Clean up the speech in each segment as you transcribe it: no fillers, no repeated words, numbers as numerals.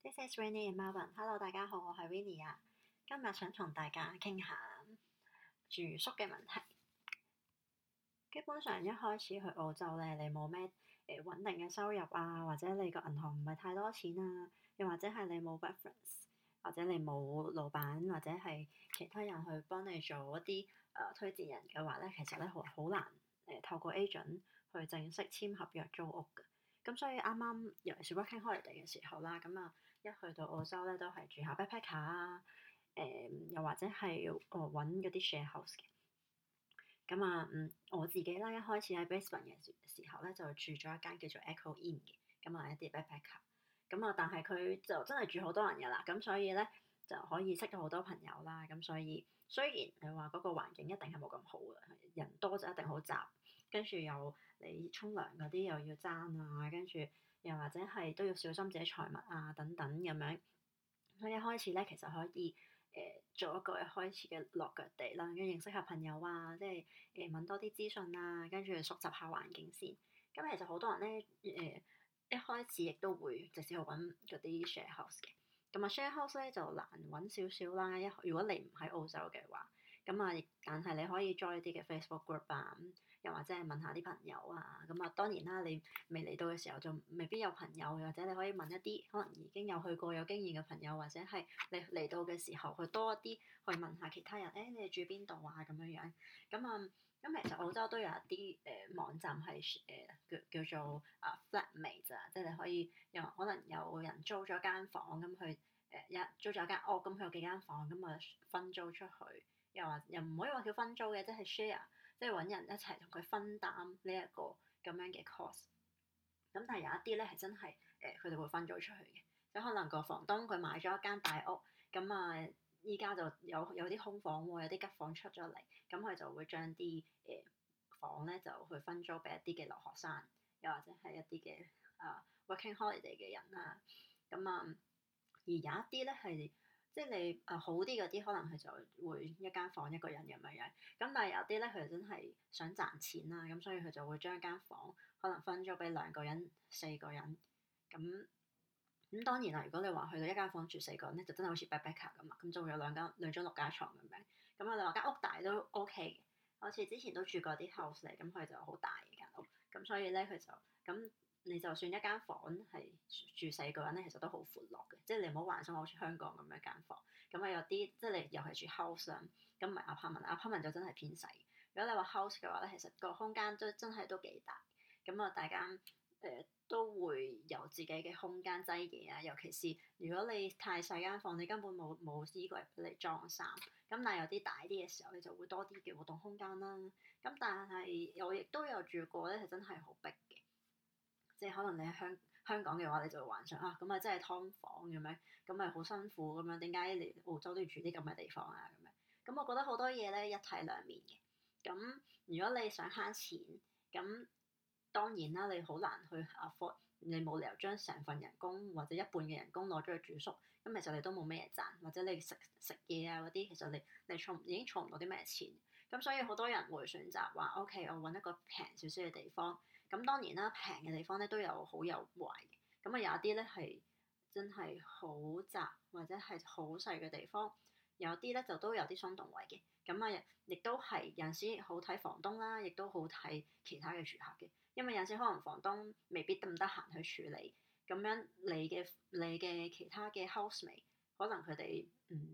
This is Winnie in Melbourne. Hello，大家好，我係 Winnie 啊。今日想同大家傾下住宿嘅問題。基本上一開始去澳洲咧，你冇咩穩定嘅收入啊，或者你個銀行唔係太多錢啊，又或者係你冇 reference，或者你冇老闆或者係其他人去幫你做一啲推薦人嘅話咧，其實咧好難透過 agent 去正式簽合約租屋嘅。咁所以啱啱尤其是 working holiday 嘅時候啦，咁啊一去到澳洲咧都係住下 backpacker 啊，又或者係揾嗰啲 share house 嘅。咁啊我自己啦，一開始喺 Brisbane 嘅時候咧就住咗一間叫做 Echo Inn 嘅，咁啊一啲 backpacker。咁啊但係佢就真係住好多人㗎啦，咁所以咧就可以識到好多朋友啦。咁所以雖然你話嗰個環境一定係冇咁好嘅，人多就一定好雜，跟住又你沖涼嗰啲又要爭啊，跟住又或者係都要小心自己財物啊等等咁樣。所以一開始咧其實可以做一個一開始嘅落腳地啦，跟住認識下朋友啊，即係問多啲資訊啊，跟住熟習下環境先。咁其實好多人咧一開始亦都會直接去揾嗰啲 share house 嘅。咁啊 share house 咧就難揾少少啦。如果你唔喺澳洲嘅話，咁啊但係你可以 join 啲嘅 Facebook group 啊，又或者係問下啲朋友啊。咁啊當然啦，你未嚟到嘅時候就未必有朋友，或者你可以問一啲可能已經有去過有經驗嘅朋友，或者係你嚟到嘅時候去多一啲去問下其他人，你哋住邊度啊咁樣樣。咁其實澳洲都有一啲網站係叫做flatmate 啊，即係你可以可能有人租咗間房咁去租咗間屋，咁佢有幾間房咁啊分租出去，又唔可以話叫分租嘅，即係 share，即係揾人一齊同佢分擔呢一個咁樣嘅 cost。咁但係有一啲咧係真係佢哋會分租出去嘅，即可能個房東佢買咗一間大屋，咁啊依家就有啲空房喎，有啲吉房出咗嚟，咁佢就會將啲房咧就去分租俾一啲嘅留學生，又或者係一啲嘅working holiday 嘅人啦。咁而有一啲咧係即係你好啲嗰啲，可能佢就會一間房一個人咁樣樣。咁但係有啲咧佢真係想賺錢啦，咁所以佢就會將間房可能分咗俾2個人、4個人。咁當然啦，如果你話去到一間房住4個人咧，就真係好似 backpacker 咁啊，咁就會有兩張6架床咁樣。咁我哋話間屋大都 OK 嘅，好似之前都住過啲 house 嚟，咁佢就好大嘅間屋，咁所以咧佢就咁你就算一間房係住4個人咧，其實都好闊落嘅，即係你唔好幻想好似香港咁樣間房。咁啊有啲即係你又係住 house 啦，咁唔係 apartment 就真係偏細。如果你話 house 嘅話咧，其實個空間都真係都幾大，咁啊大家都會有自己嘅空間擠嘢啊，尤其是如果你太細間房，你根本冇衣櫃俾你裝衫。咁但係有啲大啲嘅時候，你就會多啲嘅活動空間啦。咁但係我亦都有住過咧，係真係好逼嘅，即係可能你喺香港嘅話，你就會幻想啊，咁啊真係劏房咁樣，咁咪好辛苦咁樣，點解嚟澳洲都要住啲咁嘅地方啊咁樣？咁我覺得好多嘢咧一體兩面嘅。咁如果你想慳錢，咁當然啦，你好難去 afford，你冇理由將成份人工或者一半嘅人工攞咗去住宿，咁其實你都冇咩嘢賺，或者你食嘢啊嗰啲，其實你已經儲唔到啲咩錢。咁所以好多人會選擇話 OK，我揾一個平少少嘅地方。咁當然啦，平嘅地方咧都有好有壞嘅。咁啊有一啲咧係真係好窄或者係好細嘅地方，有啲咧就都有啲鬆動位嘅。咁啊亦都係有陣時好睇房東啦，亦都好睇其他嘅住客嘅。因為有陣時可能房東未必咁得閒去處理，咁樣你嘅其他嘅 housemate 可能佢哋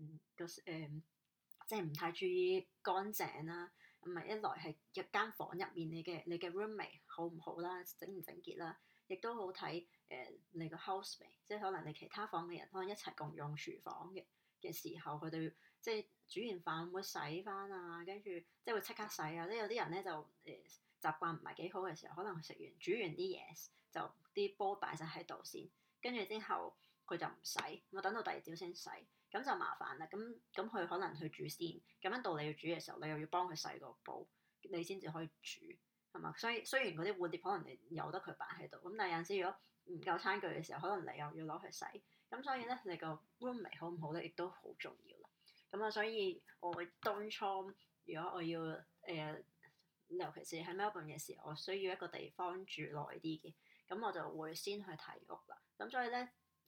即係唔太注意乾淨啦，唔係一來係一間房入面你嘅 roommate 好唔好啦，整唔整潔啦，亦都好睇你個 housemate，即係可能你其他房嘅人可能一齊共用廚房嘅時候，佢哋即係煮完飯會洗翻啊，跟住即係會即刻洗啊，即係有啲人咧就習慣唔係幾好嘅時候，可能食完煮完啲嘢就啲煲擺晒喺度先，跟住之後佢就唔洗，我等到第二朝先洗，咁就麻煩啦。咁佢可能去煮先，咁樣到你要煮嘅時候，你又要幫佢洗個煲，你先至可以煮，係嘛？所以雖然嗰啲碗碟可能你由得佢擺喺度，咁但係有陣時如果唔夠餐具嘅時候，可能你又要攞去洗，咁所以咧你個 roommate 好唔好咧，亦都好重要啦。咁啊，所以我當初如果我要尤其是喺 Melbourne 嘅時候，我需要一個地方住耐啲嘅，咁我就會先去睇屋啦。咁所以咧，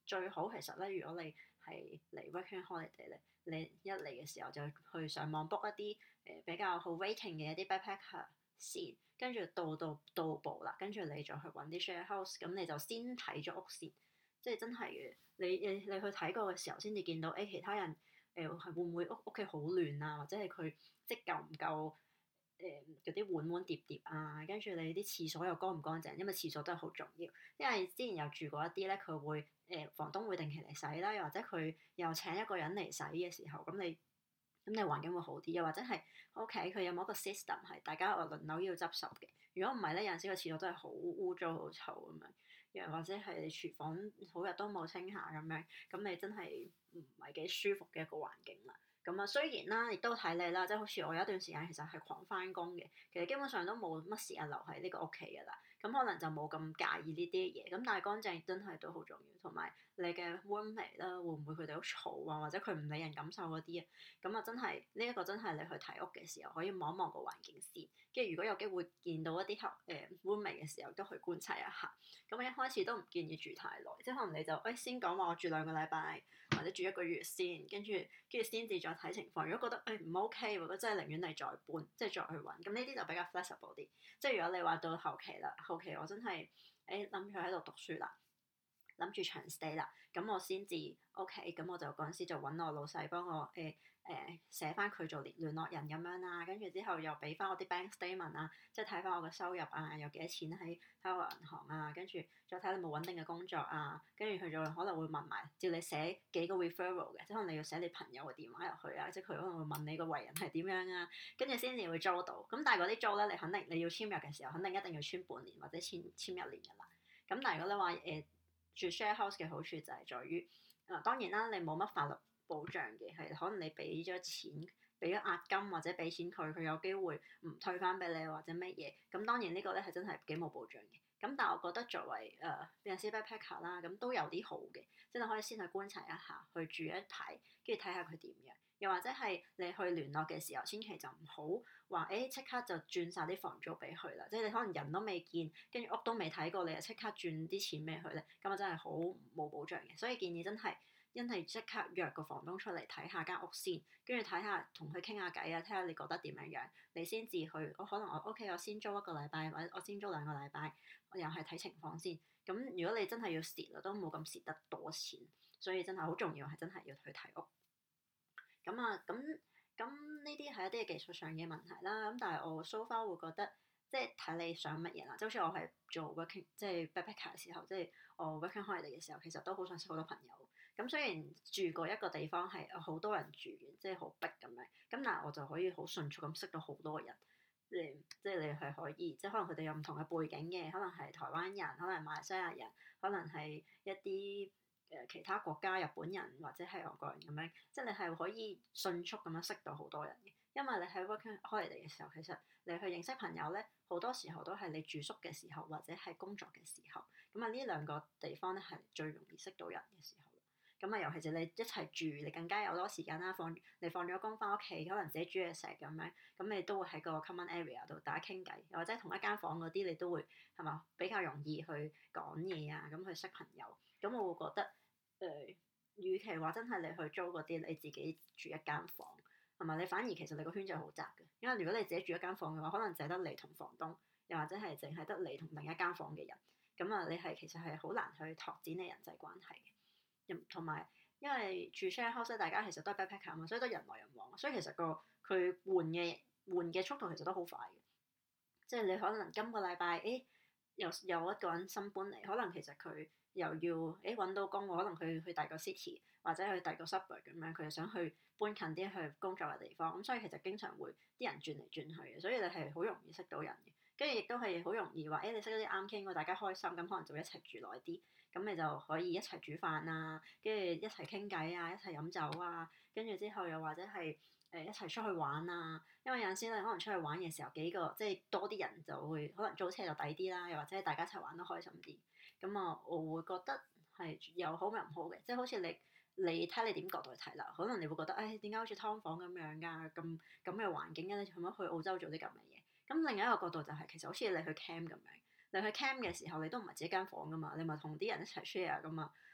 最好其實咧，如果你係嚟 working holiday 咧，你一嚟嘅時候就去上網 book 一啲比較好 rating 嘅一啲 backpacker 先，跟住到步啦，跟住你再去揾啲 share house，咁你就先睇咗屋先，即係真係你去睇過嘅時候，先至見到其他人係會唔會屋企好亂啊，或者係佢即係夠唔夠嗰啲碗碗碟碟啊，跟住你啲廁所又乾唔乾淨，因為廁所都係好重要。因為之前有住過一啲咧，佢會房東會定期嚟洗啦，又或者佢又請一個人嚟洗嘅時候，咁你環境會好啲，又或者係屋企佢有冇一個 system 係大家輪流要執拾嘅。如果唔係咧，有陣時個廁所都係好污糟好臭咁樣，又或者係你廚房好日都冇清下咁樣，咁你真係唔係幾舒服嘅一個環境啦。咁啊，雖然啦，亦都睇你啦，即係好似我有一段時間其實係狂翻工嘅，其實基本上都冇乜時間留喺呢個屋企㗎啦。咁可能就冇咁介意呢啲嘢，咁但係乾淨真係都好重要，同埋你嘅 roommate 啦，會唔會佢哋好嘈啊，或者佢唔理人感受嗰啲啊？咁啊，真係呢一個真係你去睇屋嘅時候，可以望一望個環境先，跟住如果有機會見到一啲roommate 嘅時候，都去觀察一下。咁我一開始都唔建議住太耐，即係可能你就先講話我住2個禮拜或者住1個月先，跟住先至再睇情況。如果覺得唔 OK，如果真係寧願你再搬，即係再去揾，咁呢啲就比較 flexible 啲。即係如果你話到後期啦，後期我真係諗住喺度讀書啦，諗住長 stay 啦，咁我先至 OK，咁我就嗰陣時就揾我老細幫我寫翻佢做聯絡人咁樣啦，跟住之後又俾翻我啲 bank statement 啊，即係睇翻我嘅收入啊，有幾多錢喺我銀行啊，跟住再睇你冇穩定嘅工作啊，跟住佢就可能會問埋，叫你寫幾個 referral 嘅，即係可能你要寫你朋友嘅電話入去啊，即係佢可能會問你個為人係點樣啊，跟住先至會租到。咁但係嗰啲租咧，你肯定你要簽約嘅時候，肯定一定要簽半年或者簽1年㗎啦。咁但係如果你話住 share house 嘅好處就係在於，當然啦，你冇乜法律保障嘅，係可能你俾咗錢、俾咗押金或者俾錢佢有機會唔退翻俾你或者乜嘢。咁當然呢個咧係真係幾冇保障嘅。咁但係我覺得作為business backpacker 啦，咁都有啲好嘅，即係可以先去觀察一下，去住一排，跟住睇下佢點樣。又或者係你去聯絡嘅時候，千祈就唔好話即刻就轉晒啲房租俾佢啦。即係你可能人都未見，跟住屋都未睇過，你就即刻轉啲錢俾佢咧，咁啊真係好冇保障嘅。所以建議真係即刻約個房東出嚟睇下間屋先，跟住睇下同佢傾下偈啊，睇下你覺得點樣樣，你先至去。可能我 OK，我先租1個禮拜，或者我先租2個禮拜，我又係睇情況先。咁如果你真係要蝕啦，都冇咁蝕得多錢，所以真係好重要，係真係要去睇屋。咁呢啲係一啲技術上嘅問題啦。咁但係我 so far 會覺得，即係睇你想乜嘢啦。即係好似我係做 working 即係 backpacker 嘅時候，即係我 working holiday 嘅時候，其實都好想識好多朋友。咁雖然住過一個地方係好多人住嘅，即係好逼咁樣，咁但係我就可以好迅速咁識到好多人。即係你係可以，即係可能佢哋有唔同嘅背景嘅，可能係台灣人，可能係馬來西亞人，可能係一啲其他國家日本人或者係外國人咁樣，即係你係可以迅速咁樣識到好多人嘅。因為你喺 working holiday 嘅時候，其實你去認識朋友咧，好多時候都係你住宿嘅時候或者係工作嘅時候。咁啊，呢2個地方咧係最容易識到人嘅時候。咁啊，尤其是你一齊住，你更加有多時間啦。你放咗工翻屋企，可能自己煮嘢食咁樣，咁你都會喺個 common area 度大家傾偈，又或者同一間房嗰啲，你都會係嘛比較容易去講嘢啊，咁去識朋友。咁我會覺得與其話真係你去租嗰啲，你自己住一間房係咪？你反而其實你個圈就好窄嘅，因為如果你自己住一間房嘅話，可能淨係得你同房東，又或者係淨係得你同另一間房嘅人。咁啊，你其實係好難去拓展你人際關係嘅。同埋，因為住 share house 大家其實都係 backpacker 嘛，所以都人來人往，所以其實佢換嘅速度其實都好快嘅。即係你可能今個禮拜有一個人新搬嚟，可能其實佢又要揾到工，可能佢去第二個 city 或者去第二個 suburb 咁樣，佢就想去搬近啲去工作嘅地方。咁所以其實經常會啲人轉嚟轉去嘅，所以你係好容易識到人嘅。跟住亦都係好容易話你識咗啲啱傾喎，大家開心咁，可能就會一齊住耐啲。咁你就可以一齊煮飯啊，跟住一齊傾偈啊，一齊飲酒啊，跟住之後又或者係一齊出去玩啊。因為有陣時你可能出去玩嘅時候，幾個即係多啲人就會可能租車就抵啲啦，又或者大家一齊玩得開心啲。咁啊，我會覺得係有好有唔好嘅，即係好似你睇你點角度去睇啦。可能你會覺得點解好似劏房咁樣㗎，咁嘅環境嘅，你做乜去澳洲做啲咁嘅嘢？咁另一個角度就係其實好似你去 camp 咁樣。你去 camp 嘅時候，你都唔係自己間房噶嘛，你咪同啲人一齊 share 噶嘛。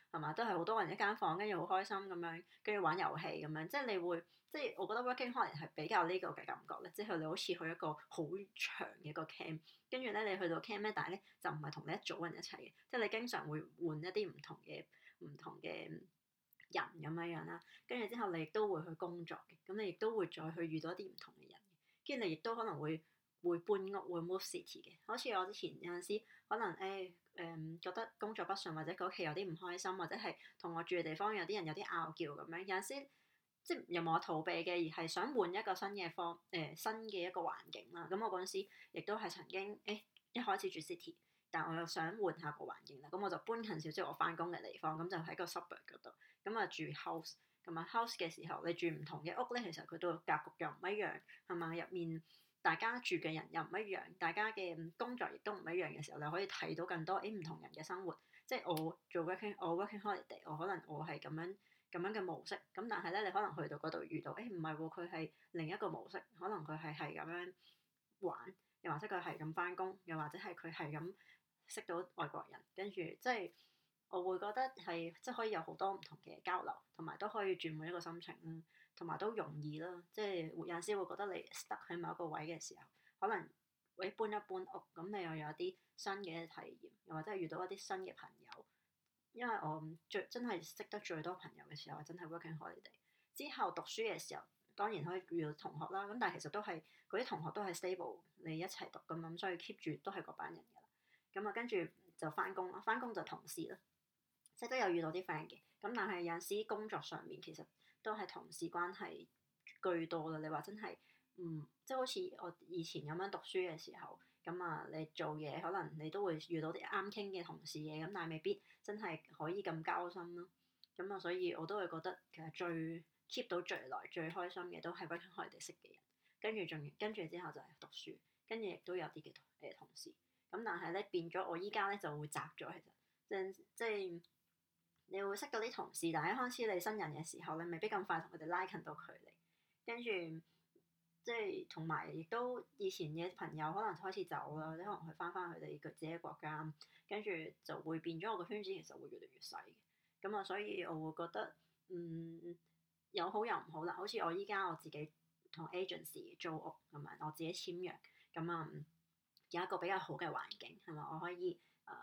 係嘛？都係好多人一間房，跟住好開心咁樣，跟住玩遊戲咁樣，即係你會，即係我覺得 working holiday 係比較呢個嘅感覺咧，即係你好似去一個好長嘅一個 camp，跟住咧你去到 camp 咧，但係咧就唔係同你一組人一齊嘅，即係你經常會換一啲唔同嘅人咁樣樣啦，跟住之後你亦都會去工作嘅，咁你亦都會再去遇到一啲唔同嘅人嘅，跟住你亦都可能會搬屋，會 move city 嘅。好似我之前有陣時可能覺得工作不順，或者嗰期有啲唔開心，或者係同我住嘅地方有啲人有啲拗撬咁樣，有陣時即係又冇話逃避嘅，而係想換一個新嘅新嘅一個環境啦。咁我嗰陣時亦都係曾經一開始住 city。但我又想換下個環境啦，咁我就搬近少少我翻工嘅地方，咁就喺個 suburb 嗰度，咁啊住 house，咁啊 house 嘅時候，你住唔同嘅屋咧，其實佢都格局又唔一樣，係嘛？入面大家住嘅人又唔一樣，大家嘅工作亦都唔一樣嘅時候，你可以睇到更多唔同人嘅生活。即係我做 working holiday，我可能我係咁樣嘅模式，咁但係咧你可能去到嗰度遇到，唔係喎，佢係另一個模式，可能佢係咁樣玩，又或者佢係咁翻工，又或者係佢係咁識到外國人，跟住即係我會覺得係即係可以有好多唔同嘅交流，同埋都可以轉換一個心情啦，同埋都容易啦。即係有陣時會覺得你 stuck 喺某一個位嘅時候，可能你搬一搬屋，咁你又有啲新嘅體驗，又或者係遇到一啲新嘅朋友。因為我真係識得最多朋友嘅時候，真係 working holiday。之後讀書嘅時候，當然可以遇到同學啦。咁但係其實都係嗰啲同學都係 stable，你一齊讀咁樣，所以 keep 住都係嗰班人㗎啦。咁啊，跟住就翻工啦，翻工就同事啦，即係都有遇到啲 friend 嘅。咁但係有陣時工作上面其實都係同事關係居多啦。你話真係即係好似我以前咁樣讀書嘅時候，咁啊你做嘢可能你都會遇到啲啱傾嘅同事嘅，咁但係未必真係可以咁交心咯。咁啊，所以我都會覺得其實最 keep 到最耐最開心嘅都係 working holiday 識嘅人，跟住之後就係讀書，跟住亦都有啲嘅同事。咁但係咧變咗，我依家咧就會窄咗，其實即係你會識到啲同事，但係一開始你新人嘅時候，你未必咁快同佢哋拉近到距離，跟住即係同埋亦都以前嘅朋友可能開始走啦，或者可能去翻佢哋自己嘅國家，跟住就會變咗我個圈子其實會越嚟越細嘅。咁啊，所以我會覺得有好有唔好啦。好似我依家我自己同 agency 租屋咁樣，我自己簽約咁啊。有一個比較好嘅環境係咪？我可以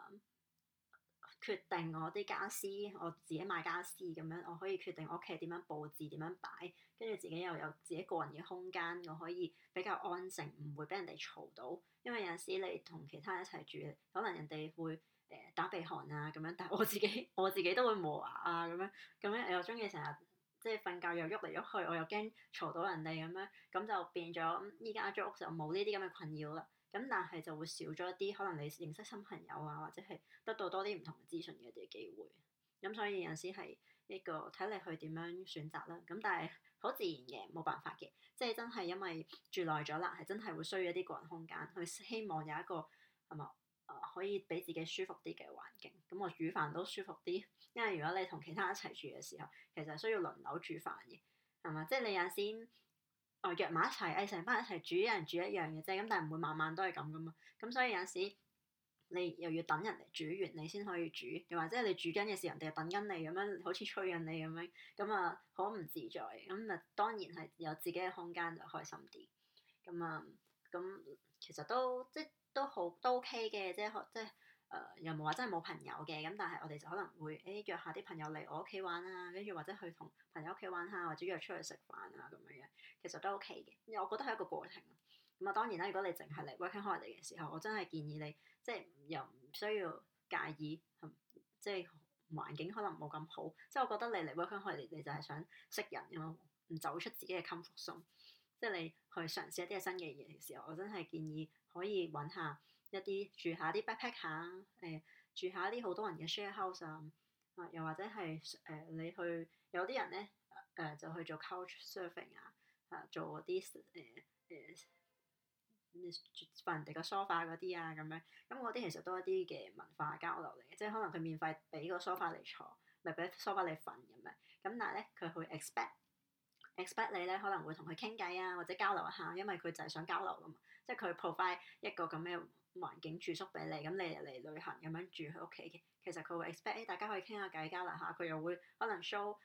決定我啲家私，我自己買家私咁樣，我可以決定我屋企點樣佈置、點樣擺，跟住自己又有自己個人嘅空間，我可以比較安靜，唔會俾人哋嘈到。因為有陣時你同其他人一齊住，可能人哋會打鼻鼾啊咁樣，但係我自己都會磨牙啊咁樣，又中意成日即係瞓覺又喐嚟喐去，我又驚嘈到人哋咁樣，咁就變咗依家租屋就冇呢啲咁嘅困擾啦。咁但係就會少咗一啲可能你認識新朋友啊，或者係得到多啲唔同嘅資訊嘅啲機會。咁所以有陣時係一個睇你去點樣選擇啦。咁但係好自然嘅，冇辦法嘅，即係真係因為住耐咗啦，係真係會需要一啲個人空間，去希望有一個係咪可以俾自己舒服啲嘅環境。咁我煮飯都舒服啲，因為如果你同其他人一齊住嘅時候，其實係需要輪流煮飯嘅，係嘛？即係你有陣時。約埋一齊，成班一齊煮，一人煮一樣嘅啫。咁但係唔會晚晚都係咁噶嘛。咁所以有陣時你又要等人哋煮完，你先可以煮。又或者你煮緊嘅時候，人哋又等緊你咁樣，好似催緊你咁樣。咁啊，好唔自在。咁啊，當然係有自己嘅空間就開心啲。咁啊，咁其實都即係都 OK 嘅，即係又冇話真係冇朋友嘅。咁但係我哋就可能會約下啲朋友嚟我屋企玩啊，跟住或者去同朋友屋企玩下，或者約出去食飯啊咁樣樣，其實都 OK 嘅。因為我覺得係一個過程。咁啊，當然啦，如果你淨係嚟 working holiday 嘅時候，我真係建議你即係又唔需要介意，即係環境可能冇咁好。即係我覺得你嚟 working holiday，你就係想識人咁樣，唔走出自己嘅 comfort zone。即係你去嘗試一啲新嘅嘢嘅時候，我真係建議可以揾下一啲住下啲 backpack 下，住下啲好多人嘅 share house 啊，又或者係你去有啲人咧就去做 couch surfing 啊，做嗰啲瞓人哋個 sofa 嗰啲啊咁樣，咁嗰啲其實都係一啲嘅文化交流嚟嘅，即係可能佢免費俾個 sofa 你坐，咪俾 sofa 你瞓咁樣，咁但係咧佢會 expect 你咧可能會同佢傾偈啊，或者交流一下，因為佢就係想交流噶嘛，即係佢 provide 一個咁嘅環境住宿俾你，咁你嚟旅行咁樣住佢屋企嘅，其實佢會 expect 大家可以傾下偈交流下，佢又會可能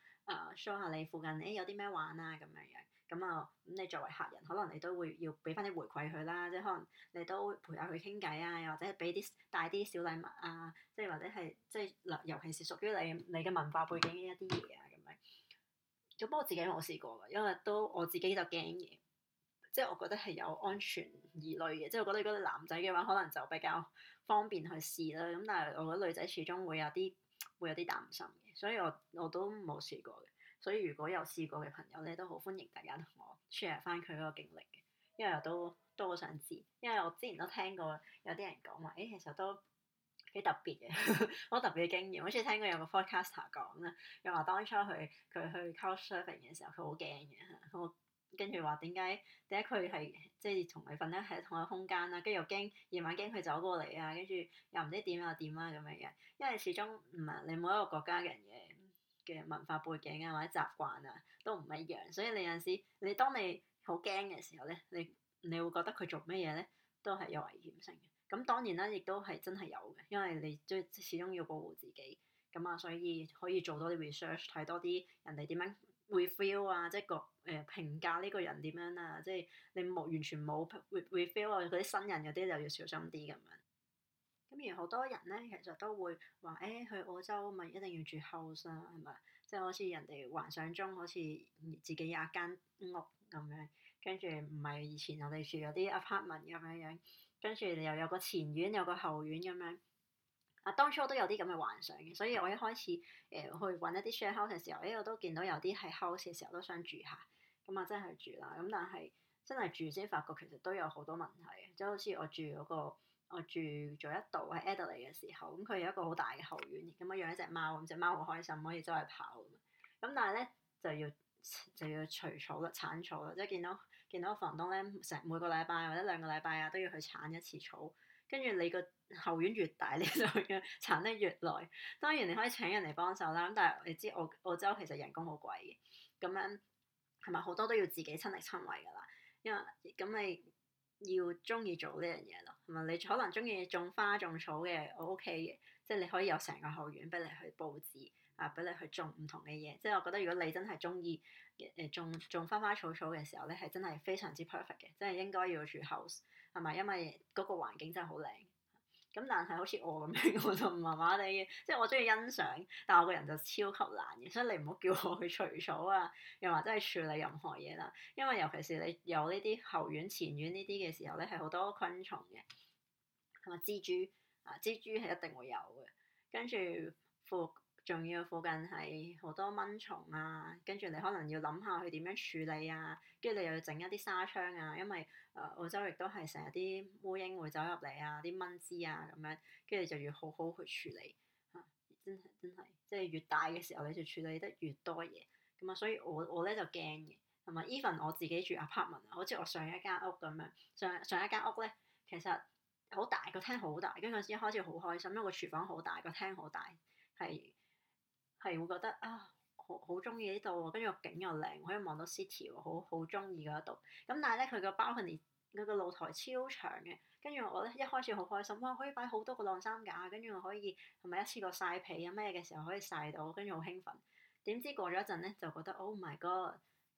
show 下你附近有啲咩玩啊咁樣樣。咁咁你作為客人，可能你都會要俾翻啲回饋佢啦，即係可能你都陪下佢傾偈啊，又或者係俾啲帶啲小禮物啊，即係或者係即係尤其是屬於你嘅文化背景嘅一啲嘢啊咁樣。咁不過我自己冇試過㗎，因為我自己就驚嘅，即係我覺得係有安全疑慮嘅，即係我覺得如果你男仔嘅話，可能就比較方便去試啦。咁但係我覺得女仔始終會有啲擔心嘅，所以我都冇試過嘅。所以如果有試過嘅朋友咧，都好歡迎大家同我 share 翻佢嗰個經歷嘅，因為我都好想知，因為我之前都聽過有啲人講話，其實都幾特別嘅，好特別嘅經驗。好似聽過有個 podcaster 講啦，又話當初佢去 couchsurfing 嘅時候，佢好驚嘅，跟住話點解佢係即係同你瞓喺同一個空間啦，跟住又驚夜晚驚佢走過嚟啊，跟住又唔知點啊點啊咁樣嘅，因為始終唔係你每一個國家嘅人嘅文化背景啊或者習慣啊都唔一樣，所以你有陣時你當你好驚嘅時候咧，你會覺得佢做乜嘢咧都係有危險性嘅。咁當然啦，亦都係真係有嘅，因為你即始終要保護自己咁啊，所以可以做多啲 research，睇多啲人哋點樣 review 啊，即係評價呢個人點樣啊，即係你完全冇 review 啊，嗰啲新人嗰啲就要小心啲咁樣。咁而好多人咧，其實都會話去澳洲咪一定要住 house 啦，係咪？即係好似人哋幻想中好似自己有一間屋咁樣，跟住唔係以前我哋住嗰啲 apartment 咁樣樣。跟住你又有個前院有個後院咁樣，當初我都有啲咁嘅幻想嘅，所以我一開始去揾一啲 share house 嘅時候，我都見到有啲係 house 嘅時候都想住下，咁啊真係住啦，咁但係真係住先發覺其實都有好多問題嘅，即係好似我住咗一度喺 Adelaide 嘅時候，咁佢有一個好大嘅後院，咁我養一隻貓，咁隻貓好開心可以周圍跑咁但係咧就要除草啦、剷草啦，即係見到房東咧，成每個禮拜或者2個禮拜啊，都要去剷一次草。跟住你個後院越大，你就要剷得越耐。當然你可以請人嚟幫手啦，咁但係你知澳洲其實人工好貴嘅，咁樣係咪好多都要自己親力親為㗎啦？因為咁你要中意做呢樣嘢咯，係咪？你可能中意種花種草嘅，我 OK 嘅，即係你可以有成個後院俾你去佈置。俾你去種唔同嘅嘢，即係我覺得如果你真係中意種花花草草嘅時候咧，係真係非常之 perfect 嘅，真係應該要住 house 係咪？因為嗰個環境真係好靚。咁但係好似我咁樣，我就麻麻地嘅，即係我中意欣賞，但係我個人就超級懶嘅，所以你唔好叫我去除草啊，又或者係處理任何嘢啦。因為尤其是你有呢啲後院前院呢啲嘅時候咧，係好多昆蟲嘅，同埋蜘蛛係一定會有嘅，跟住仲要附近係好多蚊蟲啊，跟住你可能要諗下佢點樣處理啊，跟住你又要整一啲紗窗啊，因為澳洲亦都係成日啲烏蠅會走入嚟啊，啲蚊滋啊咁樣，跟住就要好好去處理真係，即係越大嘅時候你就處理得越多嘢，咁所以我咧就驚嘅，同埋 even 我自己住 apartment 啊，好似我上一間屋咁樣，上一間屋咧其實好大，個廳好大，跟住一開始好開心，因為個廚房好大，個廳好大，係會覺得好中意呢度喎，跟住個景又靚，可以望到 city 喎，好中意嗰度。咁但係咧佢個 balcony 佢個露台超長嘅，跟住我咧一開始好開心，哇可以擺好多個晾衫架，跟住我可以係咪一次過曬被啊咩嘅時候可以曬到，跟住好興奮。點知過咗一陣咧就覺得 oh my god，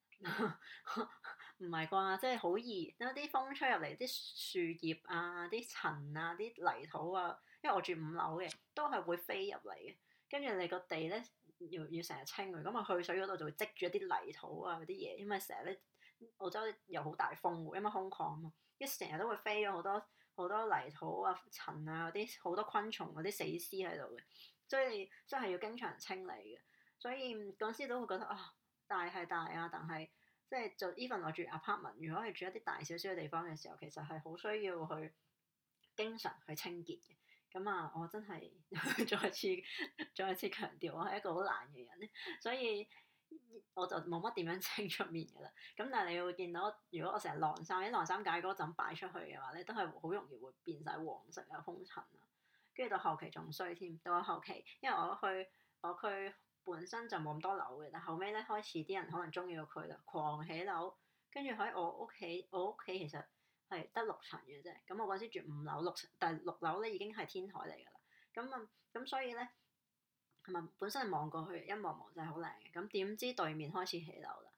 唔係啩？即係好熱，有啲風吹入嚟，啲樹葉啊、啲塵啊、啲泥土啊，因為我住5樓嘅，都係會飛入嚟嘅。跟住你個地咧要成日清，咁啊去水嗰度就會積住一啲泥土啊嗰啲嘢，因為成日咧澳洲又好大風喎，因為空曠啊嘛，一成日都會飛咗好多泥土啊、塵啊嗰啲好多昆蟲嗰啲死屍喺度嘅，所以真係要經常清理嘅。所以嗰陣時都會覺得大係大啊，但係即係就 even 我住 apartment，如果係住一啲大少少嘅地方嘅時候，其實係好需要去經常去清潔嘅。咁我真係再一次強調，我係一個好懶嘅人，所以我就冇乜點樣清出面㗎啦。咁但係你會見到，如果我成日晾衫，啲晾衫架嗰陣擺出去嘅話咧，都係好容易會變晒黃色啊、風塵啊，跟住到後期仲衰添。到後期，因為我區本身就冇咁多樓嘅，但後尾咧開始啲人可能中意個區啦，狂起樓，跟住喺我屋企其實係得6層嘅啫。咁我嗰時住5樓6層，但係6樓咧已經係天台嚟㗎啦。咁所以咧係咪本身係望過去一望望就係好靚嘅？咁點知對面開始起樓啦，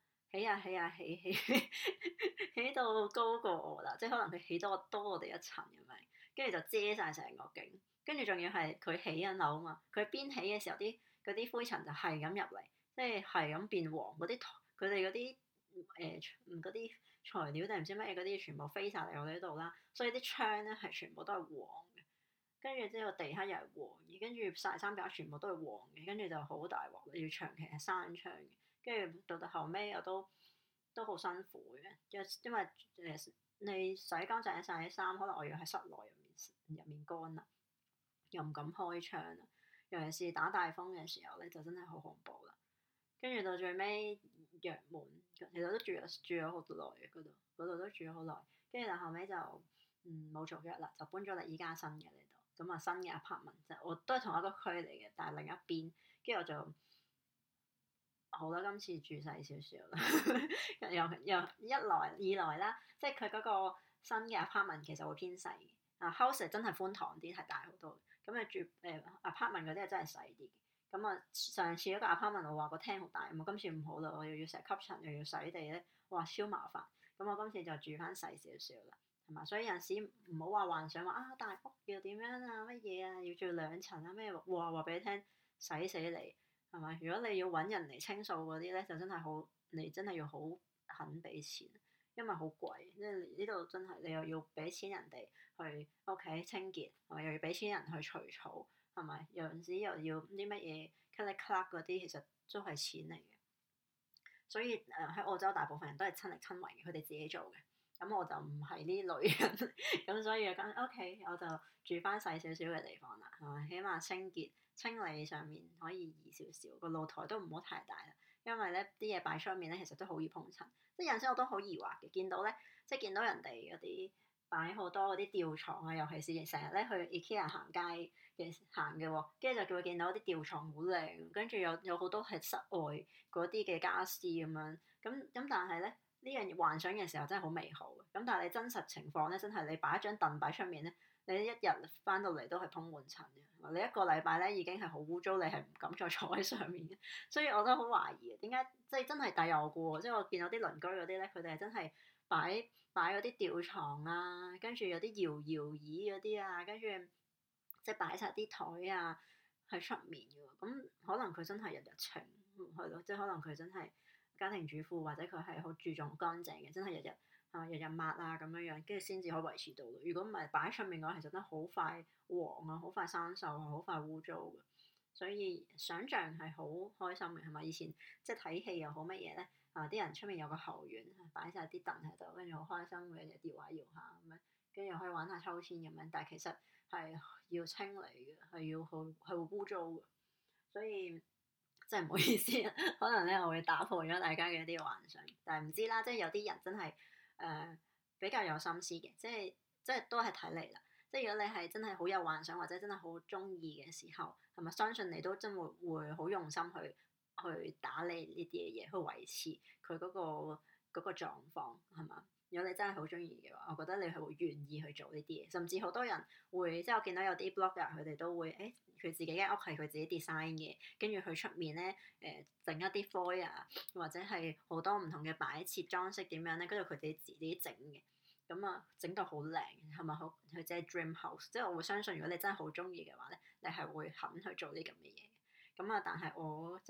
起到高過我啦，即係可能佢起多我哋一層咁樣，跟住就遮晒成個景。跟住仲要係佢起緊樓啊嘛，佢邊起嘅時候嗰啲灰塵就係咁入嚟，即係咁變黃嗰啲佢哋嗰啲嗰啲材料定唔知乜嘢嗰啲全部飛晒嚟我哋呢度啦，所以啲窗咧係全部都係黃嘅，跟住之後地下又係黃嘅，跟住曬衫架全部都係黃嘅，跟住就好大鑊，要長期係閂窗嘅，跟住到後尾我都好辛苦嘅，因為你洗乾淨晒啲衫，可能我要喺室內入面乾啦，又唔敢開窗啦，尤其是打大風嘅時候咧，就真係好恐怖啦。跟住到最尾約滿，其實都住咗好耐嘅嗰度都住咗好耐。跟住但後尾就冇續約啦，就搬咗嚟依家新嘅呢度。咁啊新嘅 apartment 就我都係同一個區嚟嘅，但係另一邊。跟住我就好啦，今次住細少少啦，又一來二來啦，即係佢嗰個新嘅 apartment 其實會偏細嘅。house 真係寬敞啲，係大好多。咁住apartment 嗰啲係真係細啲嘅。咁上次嗰個 apartment 我話個廳好大，咁今次唔好啦，我又要成日吸塵，又要洗地咧，哇超麻煩。咁我今次就住翻細少少啦，係嘛？所以有陣時唔好話幻想話大屋要點樣啊，乜嘢啊，要住2層啊咩？話俾你聽，使死你係咪？如果你要揾人嚟清掃嗰啲咧，就真係好，你真係要好肯俾錢，因為好貴。即係呢度真係你又要俾錢人哋去屋企清潔，係咪又要俾錢人去除草？係咪？有陣時又要啲乜嘢 click click 嗰啲，其實都係錢嚟嘅。所以喺澳洲大部分人都係親力親為嘅，佢哋自己做嘅。咁我就唔係呢類人，咁所以咁 OK，我就住翻細少少嘅地方啦，係咪？起碼清理上面可以易少少，個露台都唔好太大啦，因為咧啲嘢擺出面咧，其實都好易碰親。即係有陣時我都好疑惑嘅，見到見到人哋嗰啲擺好多嗰啲吊床啊，尤其是成日咧去 IKEA 行街行嘅喎，跟住就會見到啲吊床好靚，跟住有好多係室外嗰啲嘅家私咁樣，咁但係咧呢樣幻想嘅時候真係好美好嘅，咁但係你真實情況咧，真係你擺一張凳擺出面咧，你一日翻到嚟都係鋪滿塵嘅，你一個禮拜咧已經係好污糟，你係唔敢再坐喺上面嘅，所以我都好懷疑點解即係真係抵我過，即係我見到啲鄰居嗰啲咧，佢哋係真係擺嗰啲吊床啊，跟住有啲搖椅嗰啲啊，跟住即係擺晒啲台啊喺出面嘅喎，咁可能佢真係日日清，係咯，即係可能佢真係家庭主婦或者佢係好注重乾淨嘅，真係日日抹啊咁樣樣，跟住先至可以維持到。如果唔係擺喺出面嘅話，其實真係好快黃啊，好快生鏽啊，好快污糟嘅。所以想像係好開心嘅，係咪？以前即係睇戲又好乜嘢咧？啲人出面有個後園，擺晒啲凳喺度，跟住好開心嘅，搖下搖下咁樣，跟住又可以玩下秋千咁樣。但係其實係要清理嘅，係會污糟嘅，所以真係唔好意思啊。可能咧我會打破咗大家嘅一啲幻想，但係唔知啦。即係有啲人真係比較有心思嘅，即係都係睇嚟啦。即係如果你係真係好有幻想或者真係好中意嘅時候，係咪相信你都真會好用心去打理呢啲嘢，去維持佢嗰個狀況係嘛？如果你真係好中意嘅話，我覺得你係會願意去做呢啲嘢，甚至好多人會即係我見到有啲 blogger 佢哋都會佢自己間屋係佢自己 design 嘅，跟住佢出面咧整一啲 foyer 或者係好多唔同嘅擺設裝飾點樣咧，跟住佢哋自己整嘅。咁整到好靚，係咪好？佢即係 dream house，即係我會相信，如果你真係好中意嘅話咧，你係會肯去做啲咁嘅嘢。但係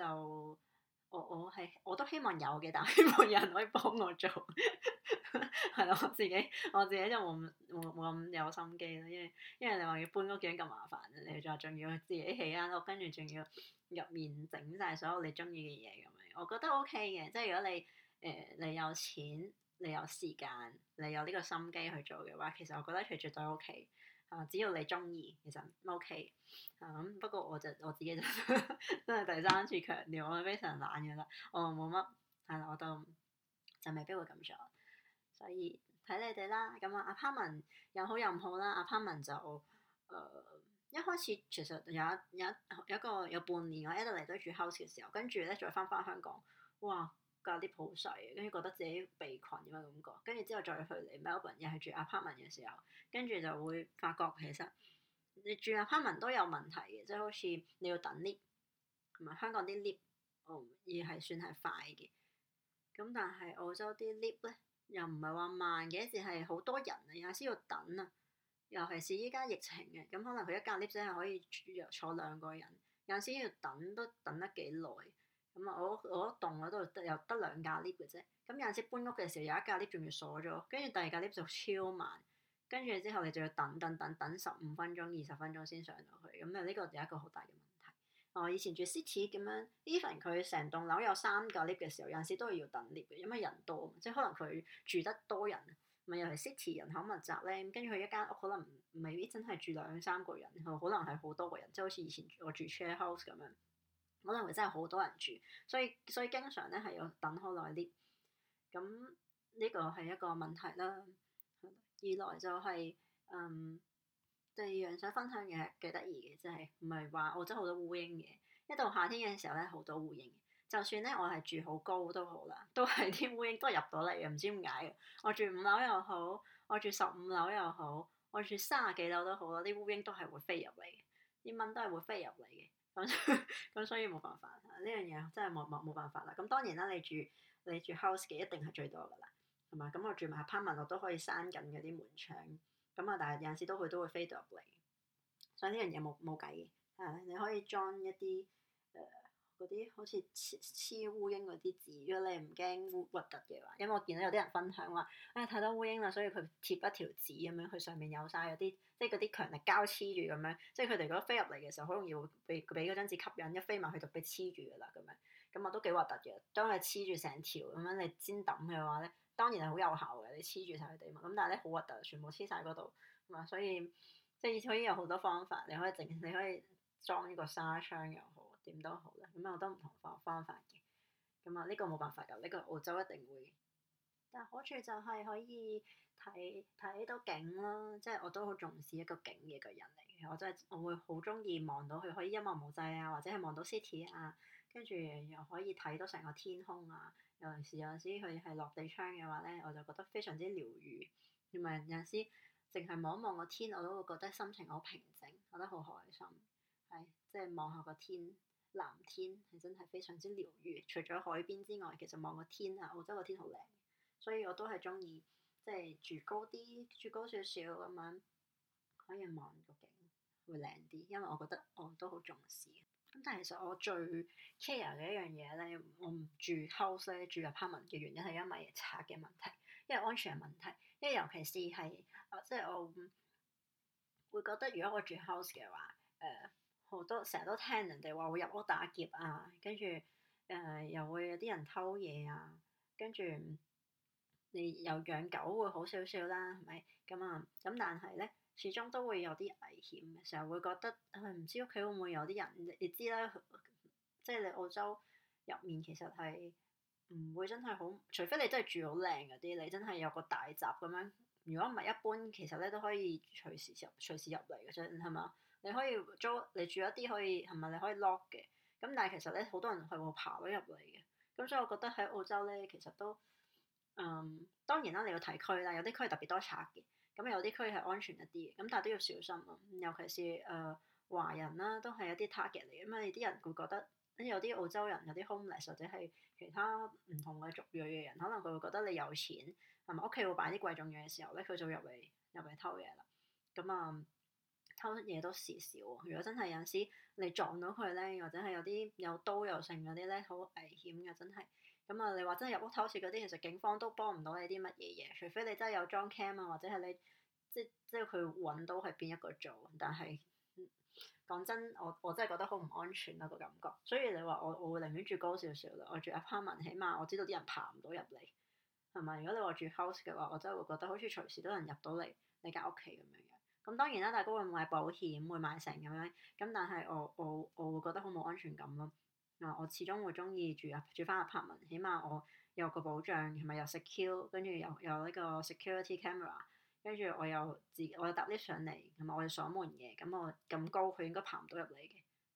我都希望有嘅，但係希望有人可以幫我做，係咯，我自己就冇咁有心機啦，因為你話要搬屋幾咁麻煩，你仲要自己起間屋，跟住仲要入面整晒所有你中意嘅嘢咁樣，我覺得 OK 嘅，即係如果你有錢。你有時間，你有呢個心機去做嘅話，其實我覺得佢絕對 OK。只要你中意，其實 OK。咁不過我自己就真係第三次強調，我係非常懶嘅啦。我冇乜係啦，我就未必會咁做。所以睇你哋啦。咁apartment 有好有唔好啦。apartment 就一開始其實有半年我 Adelaide 都住 house 嘅時候，跟住咧再翻香港，哇！ 架 lift 好細嘅，跟住覺得自己被困咁嘅感覺。跟住之後再去嚟 Melbourne 又係住 apartment 嘅時候，跟住就會發覺其實你住 apartment 都有問題嘅，即係好似你要等 lift，同埋香港啲 lift 而係算係快嘅。咁但係澳洲啲 lift 咧又唔係話慢嘅，只係好多人啊，有時要等啊。尤其是依家疫情嘅，咁可能佢一架 lift 真係可以坐2個人，有陣時要等都等得幾耐。咁啊，我一棟嗰度得2架 lift 嘅啫。咁有陣時搬屋嘅時候有一架 lift 仲要鎖咗，跟住第二架 lift 就超慢，跟住之後你就要等15分鐘、20分鐘先上到去。咁啊，呢個就係一個好大嘅問題。我以前住 city 咁樣，even 佢成棟樓有3架 lift 嘅時候，有陣時都係要等 lift 嘅，因為人多，即係可能佢住得多人。咪又係 city 人口密集咧，跟住佢一間屋可能未必真係住2-3個人，可能係好多個人，即係好似以前我住 share house 咁樣，可能會真係好多人住，所以經常咧係要等好耐 lift。咁呢個係一個問題啦。二來就係第二樣想分享嘅幾得意嘅，即係唔係話澳洲好多烏蠅嘅，一到夏天嘅時候咧好多烏蠅。就算咧我係住好高都好啦，都係啲烏蠅都係入到嚟嘅，唔知點解嘅。我住5樓又好，我住15樓又好，我住30幾樓都好啦，啲烏蠅都係會飛入嚟嘅，啲蚊都係會飛入嚟嘅。咁所以冇辦法，呢樣嘢真係冇辦法啦。咁當然啦，你住 house 嘅一定係最多噶啦，係嘛？咁我住埋 apartment 我都可以閂緊嗰啲門窗，咁啊，但係有陣時佢都會飛到入嚟，所以呢樣嘢冇計嘅。你可以裝一啲嗰啲好似黐烏蠅嗰啲紙，如果你唔驚核突嘅話，因為我見到有啲人分享話，太多烏蠅啦，所以佢貼一條紙咁樣，佢上面有晒嗰啲，即係嗰啲強力膠黐住咁樣，即係佢哋如果飛入嚟嘅時候，好容易會俾嗰張紙吸引，一飛埋去就俾黐住噶啦咁樣，咁我都幾核突嘅。當佢黐住成條咁樣，你先抌嘅話咧，當然係好有效嘅，你黐住晒佢哋嘛。咁但係咧好核突，全部黐晒嗰度，咁啊，所以即係可以有好多方法，你可以裝呢個紗窗又好。點都好啦，咁有好多唔同方法嘅，咁啊呢個冇辦法㗎，呢個澳洲一定會。但係好處就係可以睇到景啦，即係我都好重視一個景嘅一個人嚟嘅，我會好中意望到佢可以一望無際啊，或者係望到 city 啊，跟住又可以睇到成個天空啊。有陣時佢係落地窗嘅話咧，我就覺得非常之療愈。同埋有陣時淨係望一望個天，我都會覺得心情好平靜，覺得好開心。係即係望下個天。藍天係真係非常之療愈，除咗海邊之外，其實望個天啊，澳洲個天好靚，所以我都係中意即係住高啲，住高少少咁樣，可以望個景會靚啲，因為我覺得我都好重視。咁但係其實我最 care 嘅一樣嘢咧，我唔住 house 咧，住 apartment 嘅原因係因為賊嘅問題，因為安全嘅問題，因為尤其是係即係我會覺得如果我住 house 嘅話，好多成日都聽人哋話會入屋打劫啊，跟住又會有啲人偷嘢啊，跟住你又養狗會好少少啦，係咪？咁但係咧，始終都會有啲危險嘅，成日會覺得唔知屋企會唔會有啲人，你知啦，即係你澳洲入面其實係唔會真係好，除非你真係住好靚嗰啲，你真係有個大閘咁樣。如果唔係一般，其實咧都可以隨時入嚟嘅啫，係嘛？你可以你住一啲可以係咪？你可以 lock 嘅，咁但係其實咧好多人係會爬咗入嚟嘅，咁所以我覺得喺澳洲咧其實都當然啦，你要睇區啦，有啲區係特別多賊嘅，咁有啲區係安全一啲嘅，咁但係都要小心啊，尤其是華人啦，都係一啲 target 嚟嘅，咁你啲人會覺得有啲澳洲人有啲 homeless 或者係其他唔同嘅族裔嘅人，可能佢會覺得你有錢係咪屋企會擺啲貴重嘢嘅時候咧，佢就入嚟偷嘢啦，咁偷嘢都事少喎，如果真係有陣時你撞到佢咧，或者係有啲有刀有剩嗰啲咧，好危險嘅真係。咁你話真係入屋偷竊嗰啲，其實警方都幫唔到你啲乜嘢嘢，除非你真係有裝 cam 啊，或者係你即係佢揾到係邊一個做。但係講真，我真係覺得好唔安全啊個感覺。所以你話我會寧願住高少少啦，我住 apartment 起碼我知道啲人爬唔到入嚟，係咪？如果你話住 house 嘅話，我真係會覺得好似隨時都有人入到嚟你間屋企咁樣。咁當然啦，大家會買保險，會買成咁樣，咁但係我會覺得好冇安全感咯。我始終會中意住翻 apartment，起碼我有個保障，係咪又 secure，跟住有呢個 security camera，跟住我又搭 lift 上嚟，係咪我哋鎖門嘅，咁我咁高佢應該爬唔到入嚟嘅，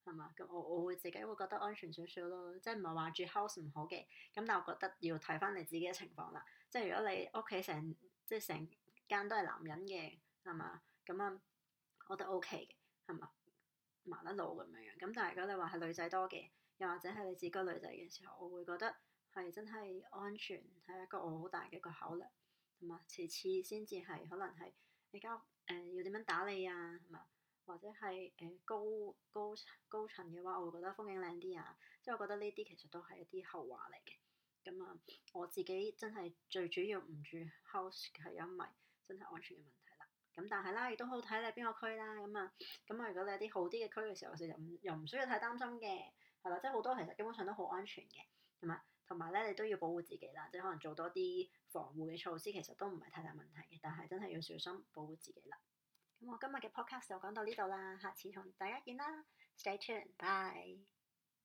係嘛？咁我會自己會覺得安全少少咯，即係唔係話住 house 唔好嘅，咁但係我覺得要睇翻你自己嘅情況啦。即係如果你屋企成間都係男人嘅，係嘛？咁啊，我覺得 OK 嘅，係嘛？麻甩佬咁樣樣。咁但係如果你話係女仔多嘅，又或者係你自己個女仔嘅時候，我會覺得係真係安全係一個我好大嘅一個考量，同埋其次先至係可能係你間屋要點樣打理啊，係嘛？或者係高層嘅話，我會覺得風景靚啲啊，即係我覺得呢啲其實都係一啲後話嚟嘅。咁啊，我自己真係最主要唔住 house 係因為真係安全嘅問題啦。咁但係啦，亦都好睇你邊個區啦。咁啊，如果你有啲好啲嘅區嘅時候，其實又唔需要太擔心嘅，係啦，即係好多其實基本上都好安全嘅，係嘛？同埋咧，你都要保護自己啦，即係可能做多啲防護嘅措施，其實都唔係太大問題嘅。但係真係要小心保護自己啦。咁我今日嘅 podcast 就講到呢度啦，下次同大家見啦，Stay tuned，bye。